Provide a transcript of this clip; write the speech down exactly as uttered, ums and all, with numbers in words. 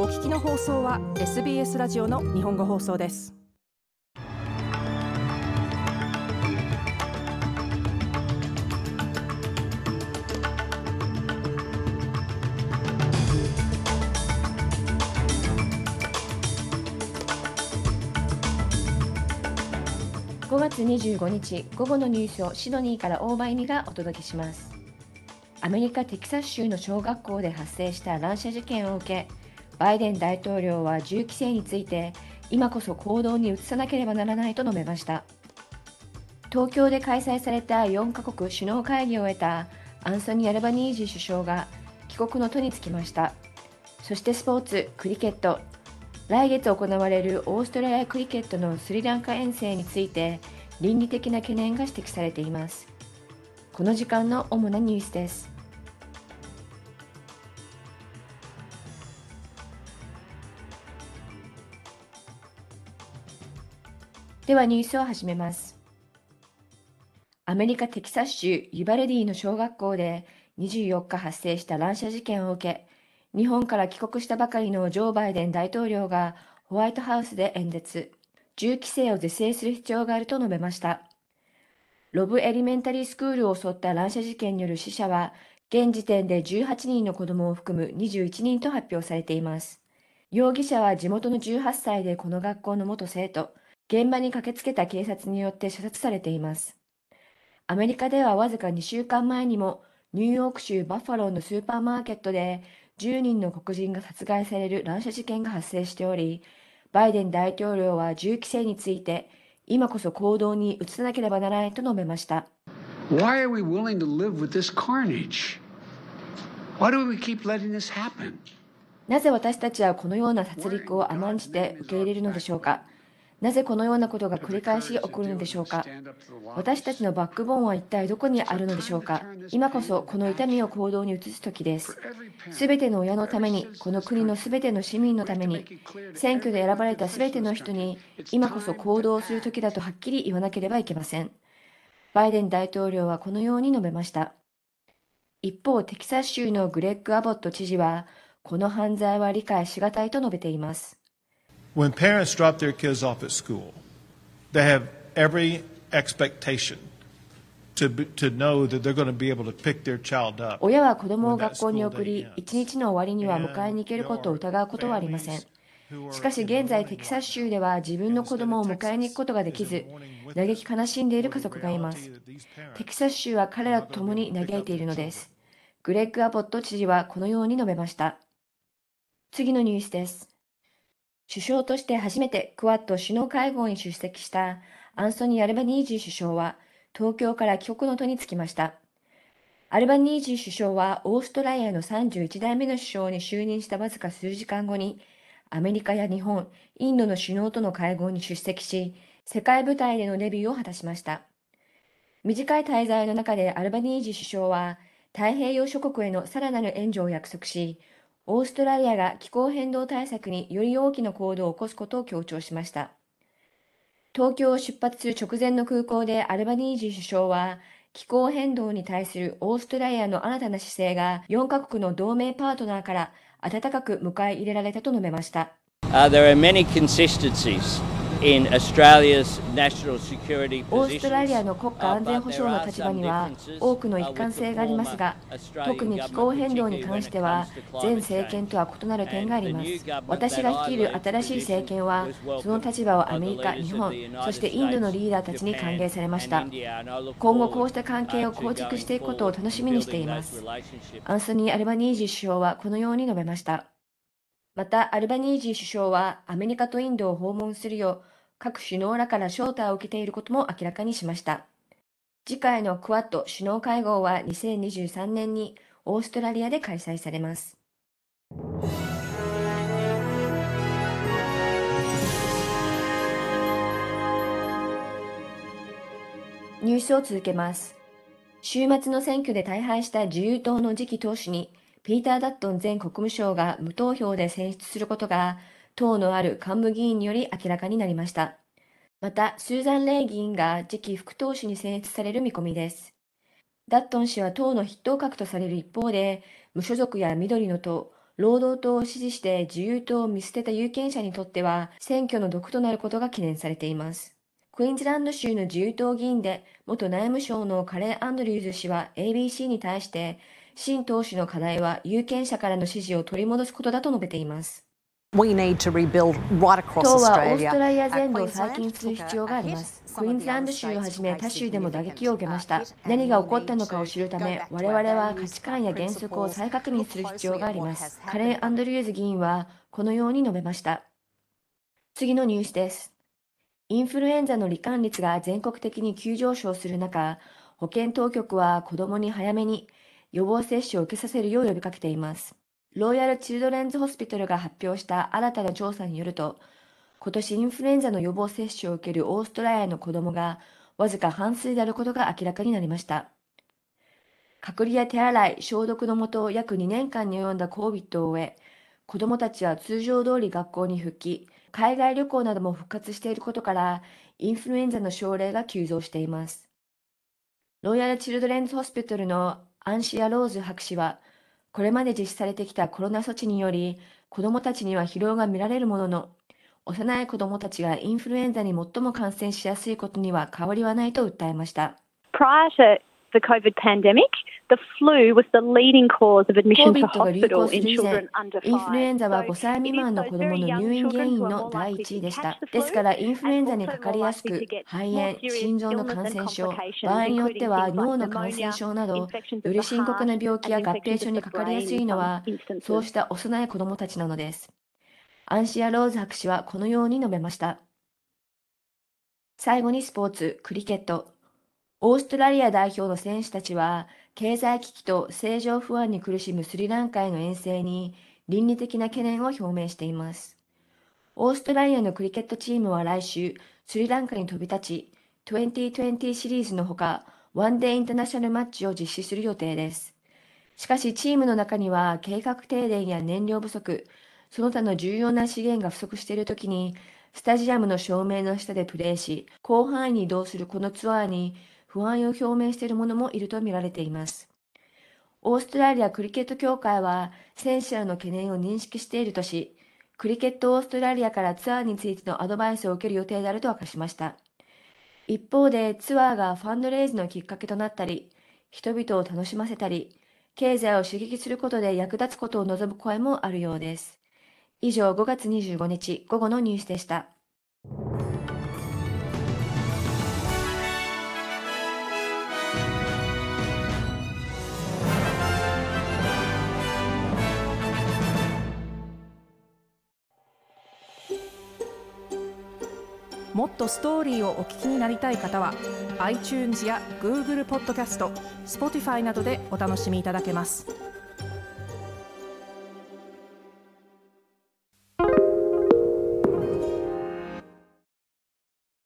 お聞きの放送は エスビーエス ラジオの日本語放送です。 ごがつにじゅうごにち午後のニュースをシドニーから大場恵美がお届けします。アメリカ・テキサス州の小学校で発生した乱射事件を受け、バイデン大統領は銃規制について今こそ行動に移さなければならないと述べました。東京で開催されたよんカ国首脳会議を終えたアンソニー・アルバニージー首相が帰国の途につきました。そしてスポーツ、クリケット、来月行われるオーストラリアクリケットのスリランカ遠征について倫理的な懸念が指摘されています。この時間の主なニュースです。ではニュースを始めます。アメリカ・テキサス州ユバルディの小学校でにじゅうよっか発生した乱射事件を受け、日本から帰国したばかりのジョー・バイデン大統領がホワイトハウスで演説、銃規制を是正する必要があると述べました。ロブエリメンタリースクールを襲った乱射事件による死者は、現時点でじゅうはちにんの子供を含むにじゅういちにんと発表されています。容疑者は地元のじゅうはっさいでこの学校の元生徒、現場に駆けつけた警察によって射殺されています。アメリカではわずかにしゅうかんまえにもニューヨーク州バッファローのスーパーマーケットでじゅうにんの黒人が殺害される乱射事件が発生しており、バイデン大統領は銃規制について今こそ行動に移さなければならないと述べました。 Why are we willing to live with this carnage? Why do we keep letting this happen? なぜ私たちはこのような殺戮を甘んじて受け入れるのでしょうか。なぜこのようなことが繰り返し起こるのでしょうか。私たちのバックボーンは一体どこにあるのでしょうか。今こそこの痛みを行動に移す時です。すべての親のために、この国のすべての市民のために、選挙で選ばれたすべての人に、今こそ行動する時だとはっきり言わなければいけません。バイデン大統領はこのように述べました。一方、テキサス州のグレッグ・アボット知事は、この犯罪は理解しがたいと述べています。 When parents drop their kids off at school, they have every expectation to, be, to know that they're going to be able to pick their child up. 親は子供を学校に送り、一日の終わりには迎えに行けることを疑うことはありません。しかし現在テキサス州では自分の子供を迎えに行くことができず、嘆き悲しんでいる家族がいます。テキサス州は彼らと共に嘆いているのです。グレッグ・アボット知事はこのように述べました。次のニュースです。首相として初めてクアッド首脳会合に出席したアンソニー・アルバニージー首相は東京から帰国の途につきました。アルバニージー首相はオーストラリアのさんじゅういちだいめの首相に就任したわずか数時間後にアメリカや日本、インドの首脳との会合に出席し、世界舞台でのデビューを果たしました。短い滞在の中でアルバニージー首相は太平洋諸国へのさらなる援助を約束し、オーストラリアが気候変動対策により大きな行動を起こすことを強調しました。東京を出発する直前の空港でアルバニージー首相は、気候変動に対するオーストラリアの新たな姿勢がよんカ国の同盟パートナーから温かく迎え入れられたと述べました。 Uh, there are many consistencies in Australia's national security オーストラリア positions. の国家安全保障の立場には多くの一貫性がありますが、特に気候変動に関しては前政権とは異なる点があります。私が率いる新しい政権はその立場をアメリカ、日本、そしてインドのリーダーたちに歓迎されました。今後こうした関係を構築していくことを楽しみにしています。アンソニー・アルバニージー首相はこのように述べました。またアルバニージー首相はアメリカとインドを訪問するよう各首脳らから招待を受けていることも明らかにしました。次回のクアッド首脳会合はにせんにじゅうさんねんにオーストラリアで開催されます。ニュースを続けます。週末の選挙で大敗した自由党の次期党首にピーター・ダットン前国務相が無投票で選出することが党のある幹部議員により明らかになりました。また、スーザン・レイ議員が次期副党首に選出される見込みです。ダットン氏は党の筆頭格とされる一方で、無所属や緑の党、 労働党を支持して自由党を見捨てた有権者にとっては選挙の毒となることが懸念されています。クイーンズランド州の自由党議員で元内務省のカレー・アンドリューズ氏は エービーシー に対して新党首の課題は有権者からの支持を取り戻すことだと述べています。 We need to rebuild right across 党はオー Australia. ストラリア全土を再建する必要があります。クイーンズランド州をはじめ他州でも打撃を受けました。何が起こったのかを知るため、我々は価値観や原則を再確認する必要があります。カレー・アンドリューズ議員はこのように述べました。次のニュースです。インフルエンザの罹患率が全国的に急上昇する中、保健当局は子どもに早めに予防接種を受けさせるよう呼びかけています。ロイヤル・チルドレンズ・ホスピタルが発表した新たな調査によると、今年インフルエンザの予防接種を受けるオーストラリアの子どもがわずか半数であることが明らかになりました。隔離や手洗い、消毒のもと約にねんかんに及んだ コービッド を終え、子どもたちは通常通り学校に復帰、海外旅行なども復活していることから、インフルエンザの症例が急増しています。ロイヤル・チルドレンズ・ホスピタルのアンシア・ローズ博士は、これまで実施されてきたコロナ措置により、子どもたちには疲労が見られるものの、幼い子どもたちがインフルエンザに最も感染しやすいことには変わりはないと訴えました。 Prior to the COVID pandemic, the flu was the leading cause of admission to hospital in children under five. インフルエンザはごさい未満の子どもの入院原因の第一位でした。ですから、インフルエンザにかかりやすく、肺炎、心臓の感染症、場合によっては脳の感染症など、より深刻な病気や合併症にかかりやすいのは、そうした幼い子どもたちなのです。アンシア・ローズ博士はこのように述べました。最後にスポーツ、クリケット。オーストラリア代表の選手たちは、経済危機と政情不安に苦しむスリランカへの遠征に倫理的な懸念を表明しています。オーストラリアのクリケットチームは来週、スリランカに飛び立ち、にせんにじゅうシリーズのほか、ワンデーインターナショナルマッチを実施する予定です。しかし、チームの中には計画停電や燃料不足、その他の重要な資源が不足しているときに、スタジアムの照明の下でプレーし、広範囲に移動するこのツアーに不安を表明している者もいると見られています。オーストラリアクリケット協会は選手らの懸念を認識しているとし、クリケットオーストラリアからツアーについてのアドバイスを受ける予定であると明かしました。一方でツアーがファンドレイズのきっかけとなったり、人々を楽しませたり、経済を刺激することで役立つことを望む声もあるようです。以上、ごがつにじゅうごにち午後のニュースでした。 もっとストーリーをお聞きになりたい方は iTunes や Google ポッドキャスト、Spotify などでお楽しみいただけます。